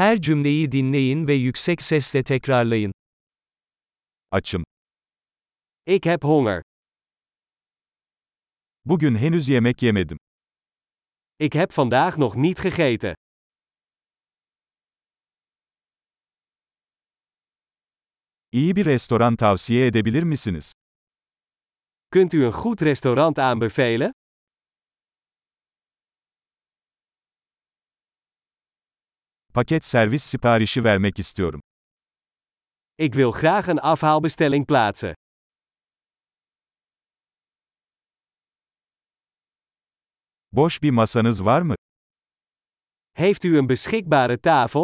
Her cümleyi dinleyin ve yüksek sesle tekrarlayın. Açım. Ik heb honger. Bugün henüz yemek yemedim. Ik heb vandaag nog niet gegeten. İyi bir restoran tavsiye edebilir misiniz? Kunt u een goed restaurant aanbevelen? Paket servis siparişi vermek istiyorum. Ik wil graag een afhaalbestelling plaatsen. Boş bir masanız var mı? Heeft u een beschikbare tafel?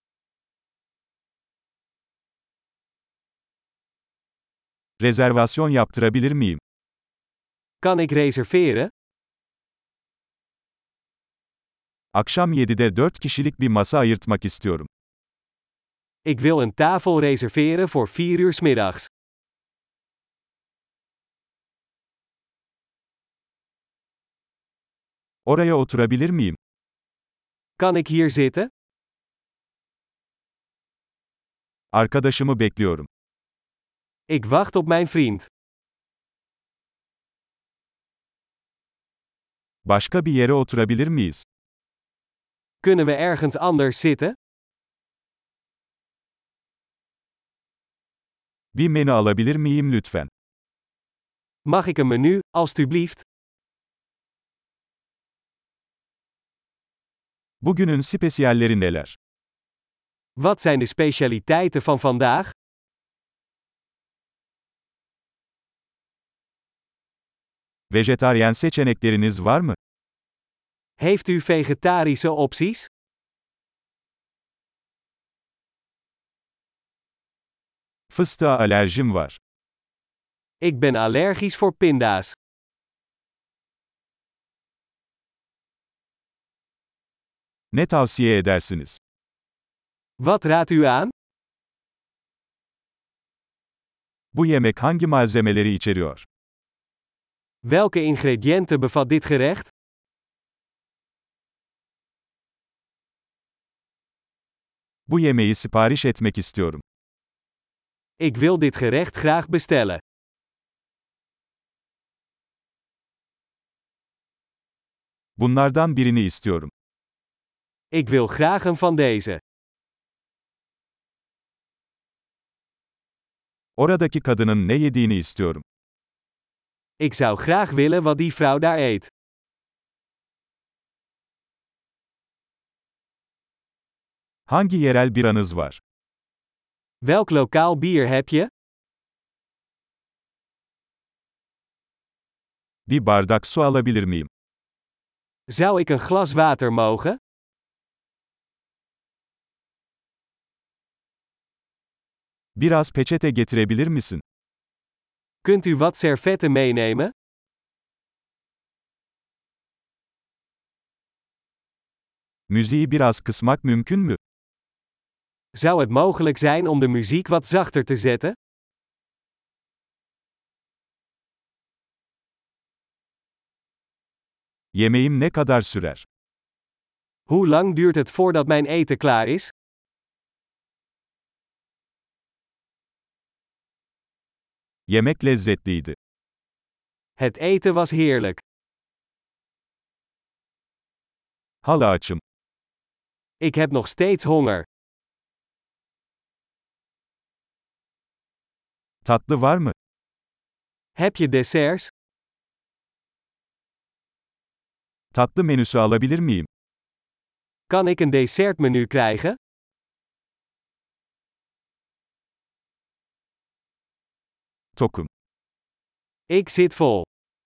Rezervasyon yaptırabilir miyim? Kan ik reserveren? Akşam 7'de 4 kişilik bir masa ayırtmak istiyorum. Ik wil een tafel reserveren voor 4 uur 's middags. Oraya oturabilir miyim? Kan ik hier zitten? Arkadaşımı bekliyorum. Ik wacht op mijn vriend. Başka bir yere oturabilir miyiz? Kunnen we ergens anders zitten? Bir menü alabilir miyim lütfen? Mag ik een menu, alstublieft? Bugünün spesiyalleri neler? Wat zijn de specialiteiten van vandaag? Vejetaryen seçenekleriniz var mı? Heeft u vegetarische opties? Fıstığa alerjim var. Ik ben allergisch voor pinda's. Ne tavsiye edersiniz? Wat raadt u aan? Bu yemek hangi malzemeleri içeriyor? Welke ingrediënten bevat dit gerecht? Bu yemeği sipariş etmek istiyorum. Ik wil dit gerecht graag bestellen. Bunlardan birini istiyorum. Ik wil graag een van deze. Oradaki kadının ne yediğini istiyorum. Ik zou graag willen wat die vrouw daar eet. Hangi yerel biranız var? Welk lokaal bier heb je? Bir bardak su alabilir miyim? Zou ik een glas water mogen? Biraz peçete getirebilir misin? Kunt u wat servetten meenemen? Müziği biraz kısmak mümkün mü? Zou het mogelijk zijn om de muziek wat zachter te zetten? Yemeğim ne kadar sürer? Hoe lang duurt het voordat mijn eten klaar is? Yemek lezzetliydi. Het eten was heerlijk. Hala açım. Ik heb nog steeds honger. Tatlı var mı? Heb je desserts? Tatlı menüsü alabilir miyim? Kan ik een dessertmenu krijgen? Tokum. Ik zit vol.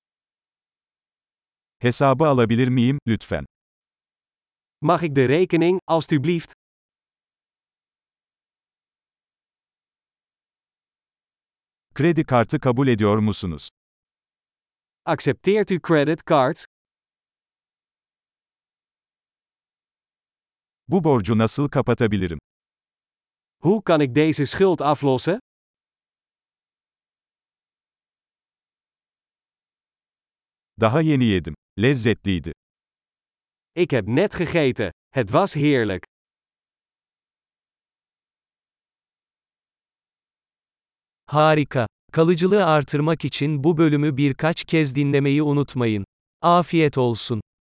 Hesabı alabilir miyim, lütfen? Mag ik de rekening, alstublieft? Kredi kartı kabul ediyor musunuz? Accepteert u credit cards? Bu borcu nasıl kapatabilirim? Hoe kan ik deze schuld aflossen? Daha yeni yedim. Lezzetliydi. Ik heb net gegeten. Het was heerlijk. Harika. Kalıcılığı artırmak için bu bölümü birkaç kez dinlemeyi unutmayın. Afiyet olsun.